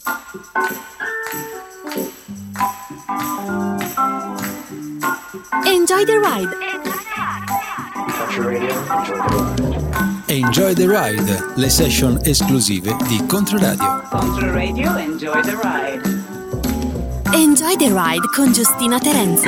Enjoy the ride. Enjoy the ride, le session esclusive di Controradio. Controradio, enjoy the ride. Enjoy the ride con Giustina Terenzi.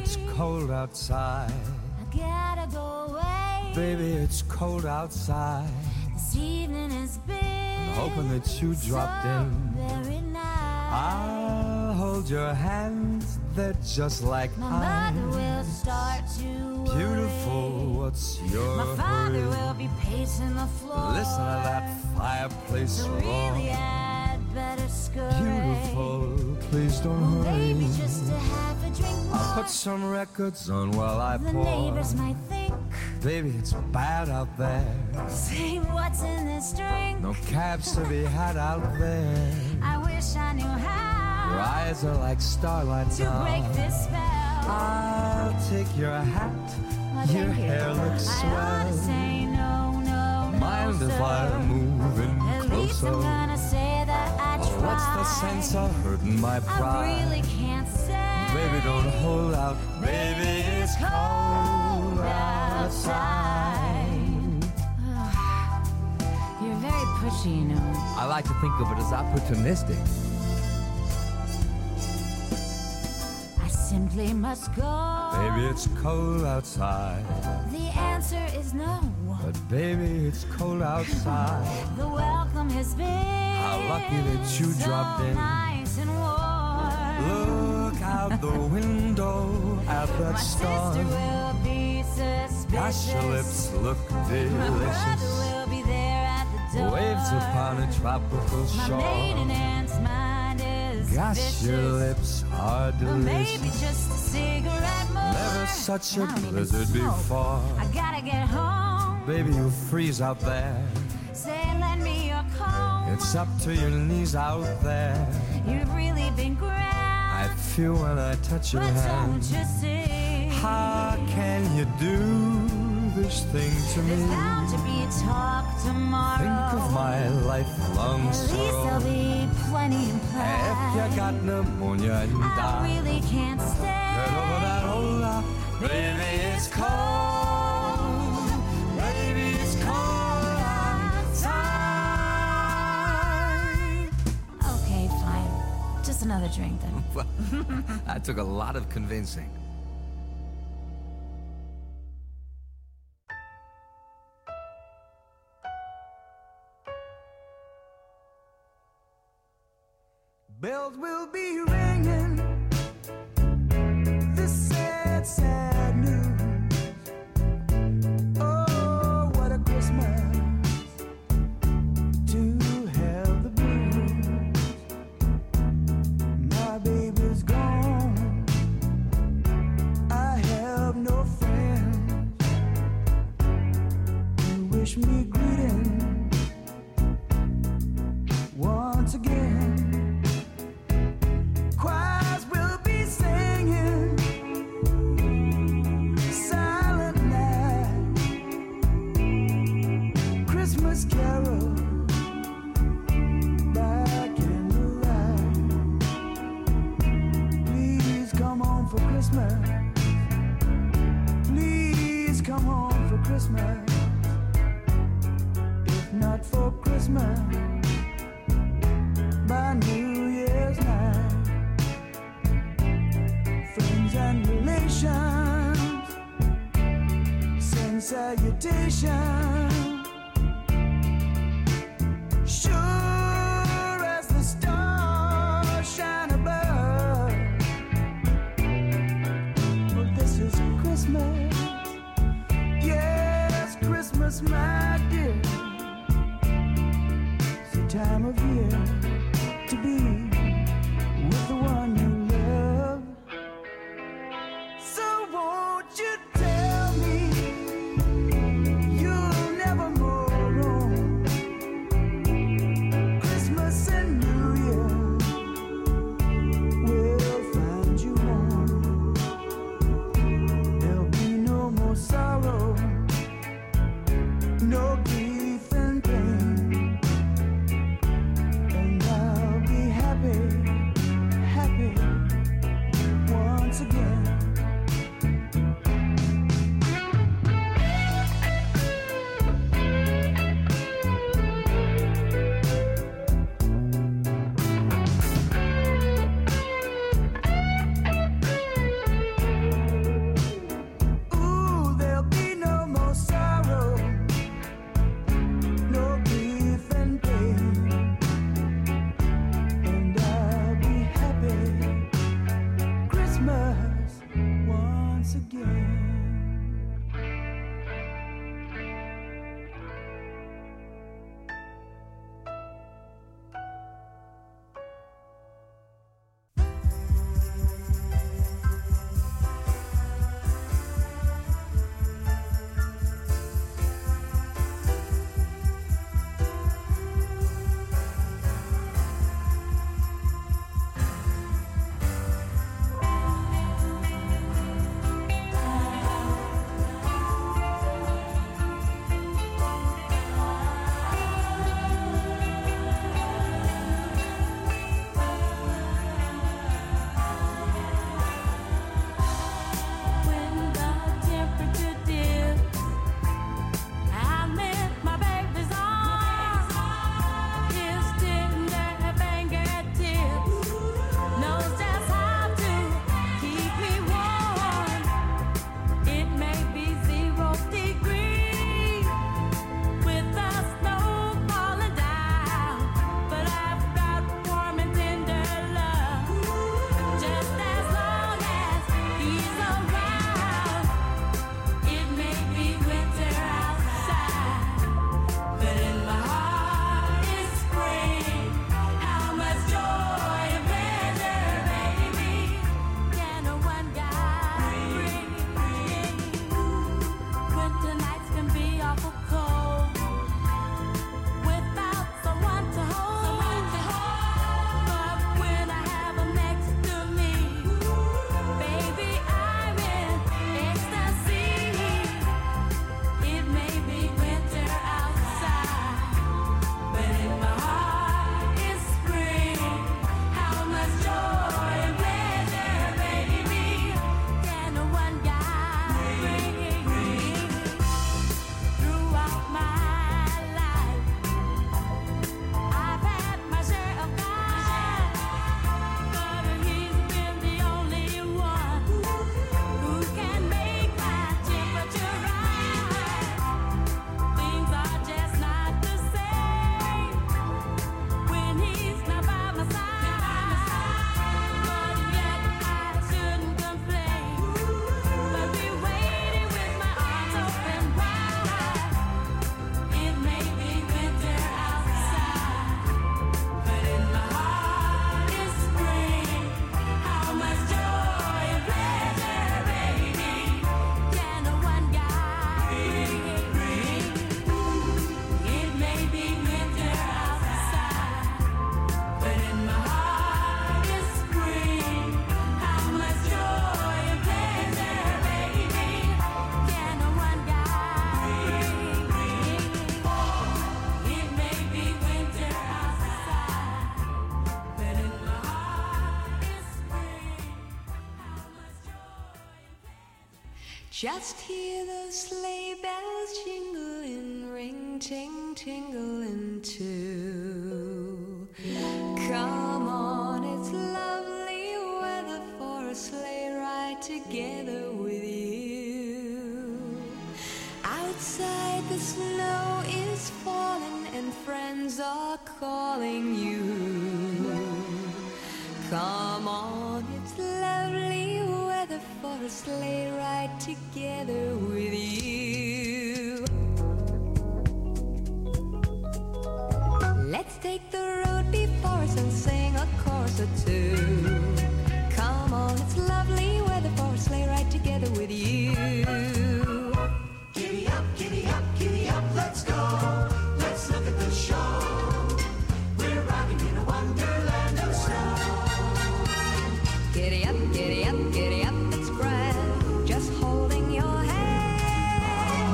it's cold outside. I gotta go away. Baby, it's cold outside. This evening has been hoping that you dropped in. Very nice. I'll hold your hands, they're just like My mine. mother will start to worry. Beautiful, what's your My father hurry? will be pacing the floor. Listen to that fireplace So roar. really I'd better scurry. Beautiful, please don't Well, hurry. maybe just to have a drink more. I'll put some records on while I The pour. neighbors might think, Baby, it's bad out there. say what's in this drink. No cabs to be had out there. I wish I knew how Your eyes are like starlight to now. break this spell. I'll take your hat. Well, Your thank you. hair looks I ought swell. to say no, no, Mind no, if sir. I move in At least I'm closer? gonna say that I tried. What's the sense of hurting my I pride? really can't say. Baby, don't hold out. Baby, it's cold outside. You're very pushy, you know. I like to think of it as opportunistic. I simply must go. Baby, it's cold outside. The answer is no. But baby, it's cold outside. The welcome has been How lucky that you so dropped in. nice and warm. Look out the window at that My star. sister will be suspicious. Gosh, your lips look My brother delicious. will be there at the door. Waves upon a tropical My shore. maiden aunt's mind is Gosh, vicious. your lips are Or maybe delicious. just a cigarette more. Never such a I don't even blizzard smoke. before. I gotta get home. Baby, you'll freeze out there. Say, lend me your comb. It's up to your knees out there. You've really been grand. I feel when I touch your But hand. don't you see? How can you do this thing to me? There's bound to be talk tomorrow. Think of my lifelong At least there'll sorrow. be plenty If implied. you got pneumonia and I die, really can't stay. get over that hold up. Baby, it's cold. Baby, it's cold outside. Okay, fine. Just another drink then. That took a lot of convincing. Bells will be ringing. This sad, sad news. Oh, what a Christmas to have the blues. My baby's gone. I have no friends who wish me greetings once again. Choirs will be singing Silent Night, Christmas carol by candlelight. Please come home for Christmas. Please come home for Christmas. If not for Christmas, by New Year's night. Friends and relations send salutations. Sure as the stars shine above. Well, this is Christmas. Yes, Christmas, my dear. It's the time of year to be with the one you love. So won't you tell me you'll never go wrong? Christmas and New Year will find you home. There'll be no more sorrow, no grief and pain, and I'll be happy Just hear those sleigh bells jingling, ring, ting, tingling too. Come on, it's lovely weather for a sleigh ride together with you. Outside the snow is falling and friends are calling you. Come on, it's lovely weather for a sleigh ride together with you. Let's take the road before us and sing a chorus or two. Come on, it's lovely weather for a sleigh ride together with you. Giddy up, giddy up, giddy up, let's go. Let's look at the show. We're riding in a wonderland of snow. Giddy up, giddy up, giddy up, it's grand, just holding your hand.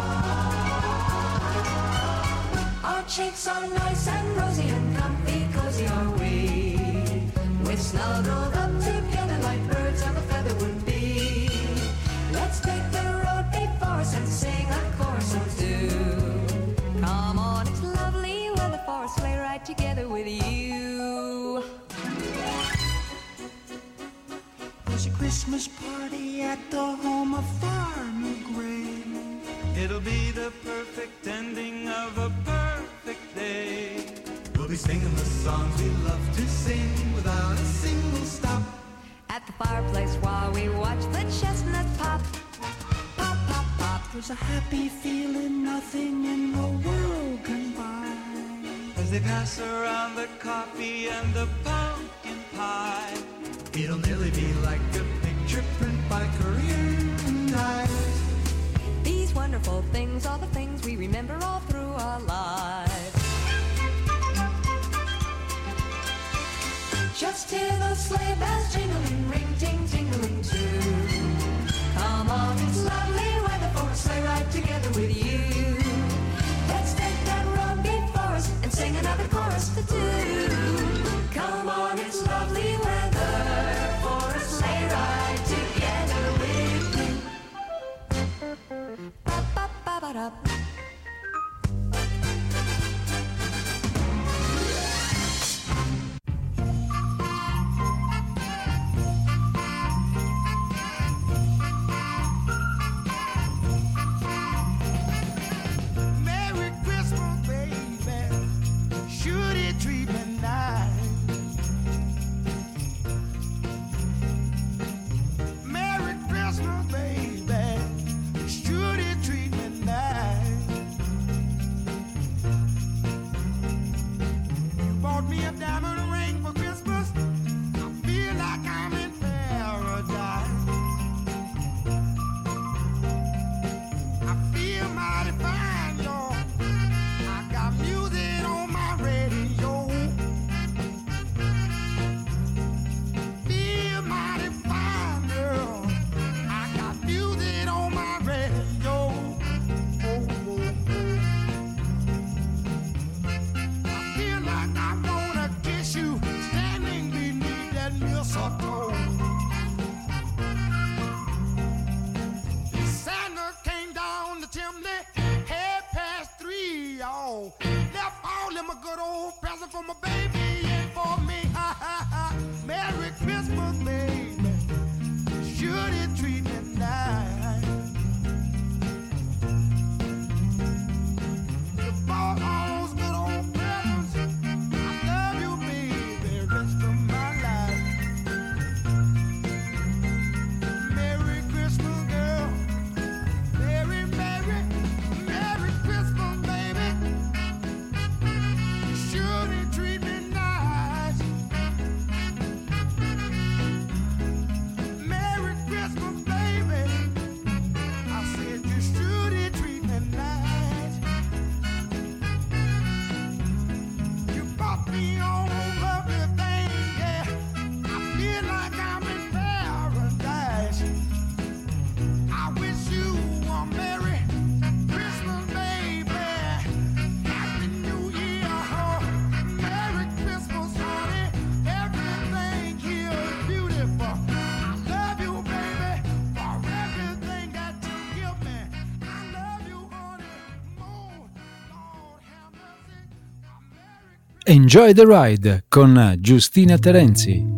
Our cheeks are nice and rosy and comfy, cozy are we. We're snuggled up together like birds of a feather would be. Let's take the road before us and sing a chorus or two. Come on, it's lovely weather for a sleigh ride together with you. There's a Christmas party at the home of Farmer Gray. It'll be the perfect ending of a perfect day. We'll be singing the songs we love to sing without a single stop. At the fireplace while we watch the chestnuts pop. Pop, pop, pop. There's a happy feeling nothing in the world can buy. As they pass around the coffee and the pumpkin pie. It'll nearly be like a picture print by Korean eyes. These wonderful things are the things we remember all through our lives. Just hear those sleigh bells jingling, ring, ting, tingling too. Come on, it's lovely weather for a sleigh ride together with you. Let's take that road before us and sing another chorus to two. Come on, it's lovely weather for a sleigh ride together with you. Ba-ba-ba-ba-da. Merry Christmas, baby. Should it treat me nice? Merry Christmas, baby. Should it treat me nice? You bought me a diamond ring for Christmas. I feel like I'm in paradise. I feel mighty fine, y'all. I got music on my radio. Feel mighty fine, girl. I got music on my radio. Oh, oh, oh. I feel like I wanna kiss you standing beneath that mistletoe. Santa came down the chimney, 3:30, y'all. Left all them a good old present for my baby and for me. Ha ha ha. Merry Christmas, baby. Should it treat me nice? You bought all those good old presents. I love you, baby, rest of my life. Merry Christmas, girl. Merry, Merry, Merry Christmas, baby. Should it treat me nice? Enjoy the Ride con Giustina Terenzi.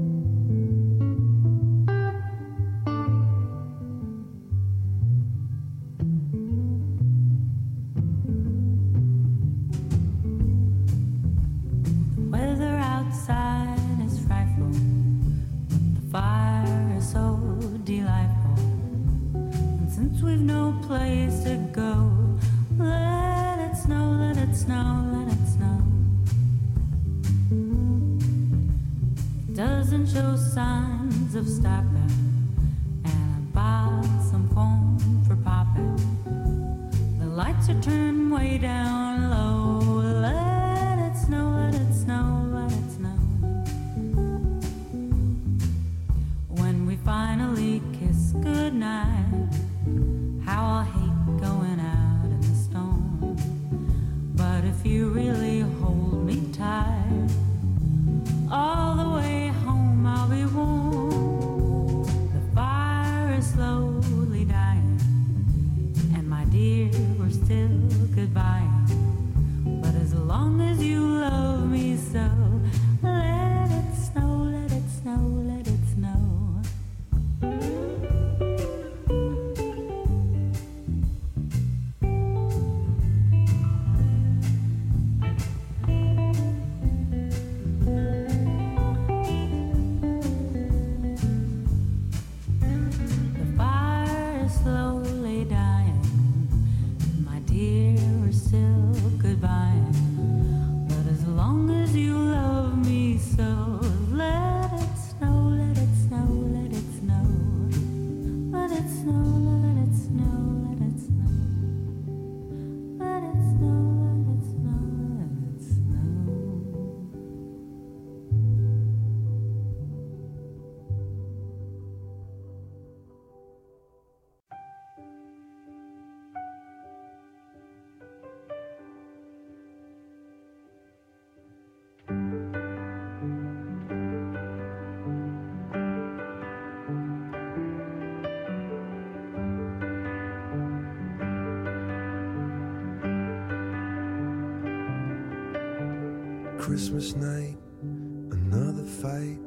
Christmas night, another fight,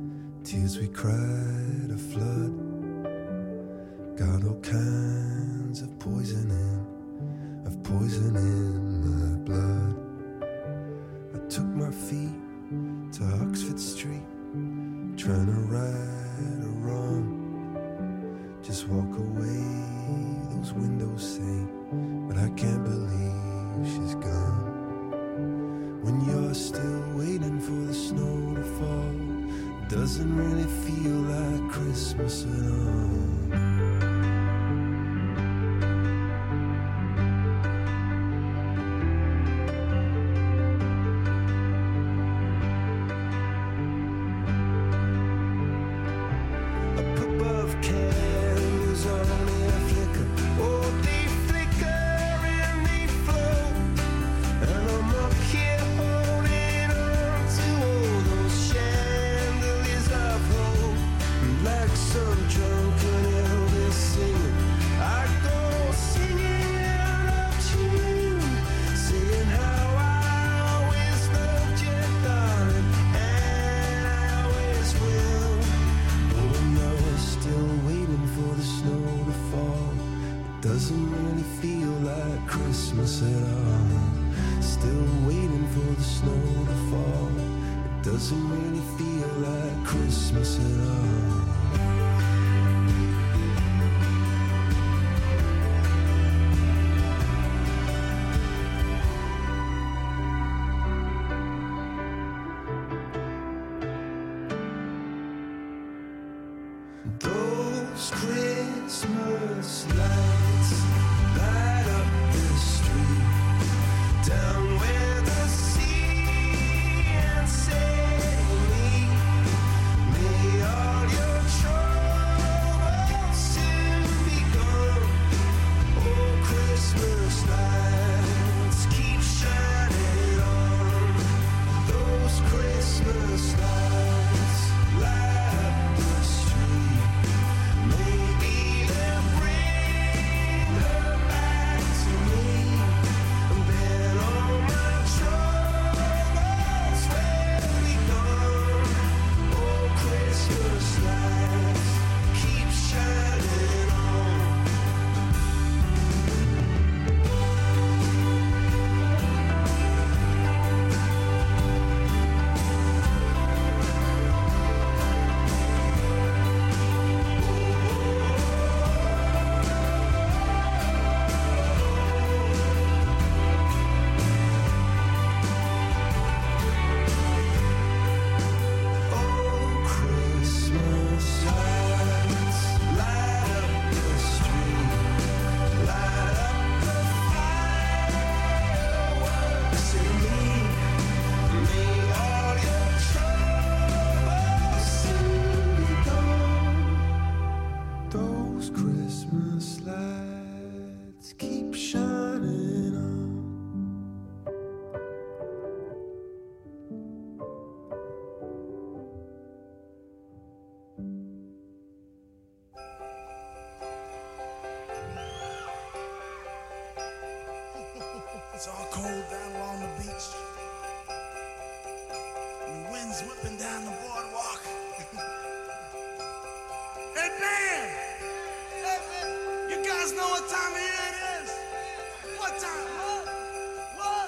tears we cried a flood. Got all kinds of poison in my blood. I took my feet to Oxford Street, trying to right a wrong. Just walk away, those windows say, but I can't believe she's gone. When you're still waiting for the snow to fall, it doesn't really feel like Christmas at all. Those Christmas lights light up the street down where the sea and say meet. May all It's all cold down along the beach. And the wind's whipping down the boardwalk. Hey, man! Hey, man! You guys know what time of year it is? What time? What?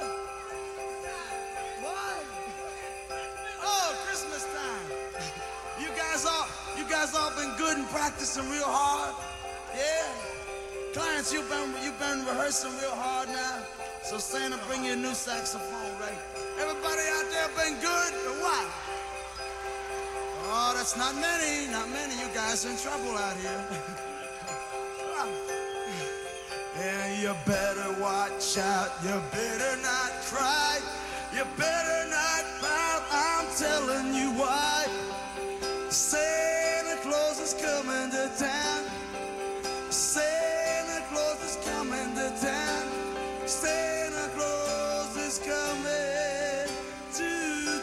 Oh, Christmas time. You guys all been good and practicing real hard? Yeah? Clarence, you've been rehearsing real hard now. So Santa, bring you a new saxophone, right? Everybody out there been good or what? Oh, that's not many. You guys are in trouble out here. Yeah, you better watch out. You better not cry. You better not pout. I'm telling you why. Santa Claus is coming to town. Santa Claus is coming to town. Santa Claus is coming to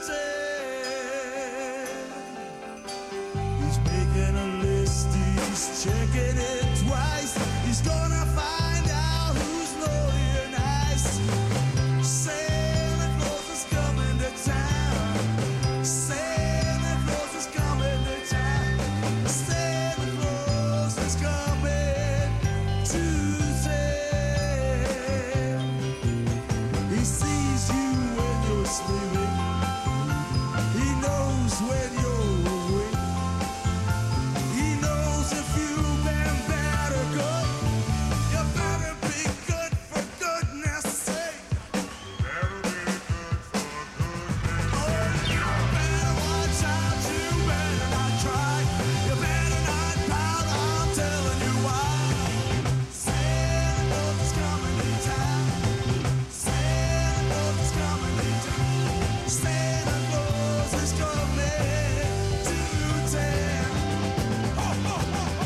town. He's making a list, he's checking it twice. He's gonna find out who's naughty or nice. Santa Claus is coming to town. Santa Claus is coming to town. Santa Claus is coming to town. He sees you when you're sleeping. He knows when you're awake. He knows if you've been bad or good. You better be good for goodness sake. Better be good for goodness sake. Oh, you better watch out. You better not try. You better not pout. I'm telling you why. Santa Claus is coming to town. Santa Claus is coming to town. Santa Claus is coming to town. Ho, ho, ho, ho.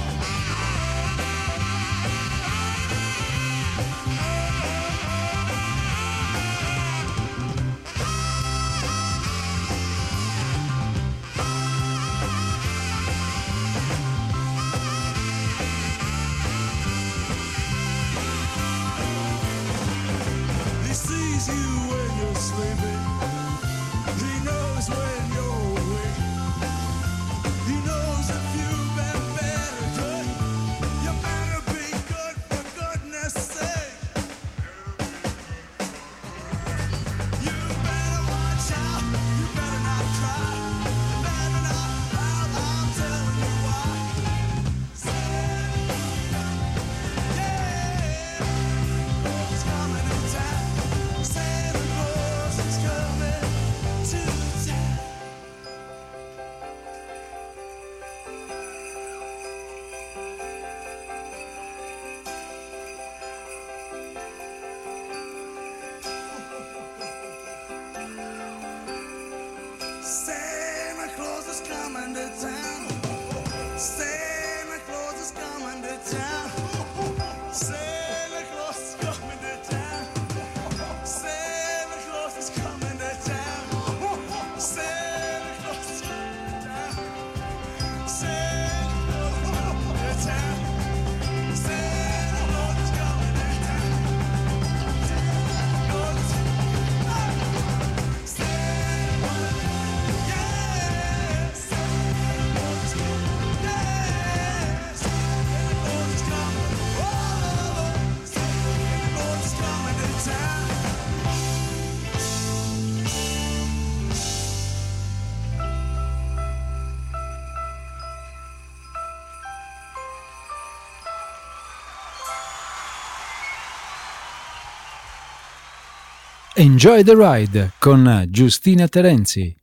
He sees you when you're sleeping. He knows when you're awake. He knows if you've been bad or good. You better be good for goodness sake. You better watch out. You better not cry. You better not pout. I'm telling you why. Santa, yeah, Claus is coming to town. Santa Claus is coming to town. Santa Claus is coming to town. Santa Claus is coming to town. Santa Claus is coming to town. Santa Claus is coming to town. Santa Claus is coming to town. Santa Claus is coming to town. Santa Claus is coming to town. Enjoy the Ride con Giustina Terenzi.